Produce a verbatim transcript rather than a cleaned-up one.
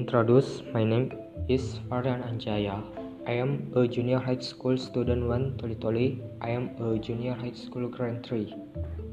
introduce, my name is Farhan Anjaya. I am a junior high school student one Toli Toli. I am a junior high school grade three.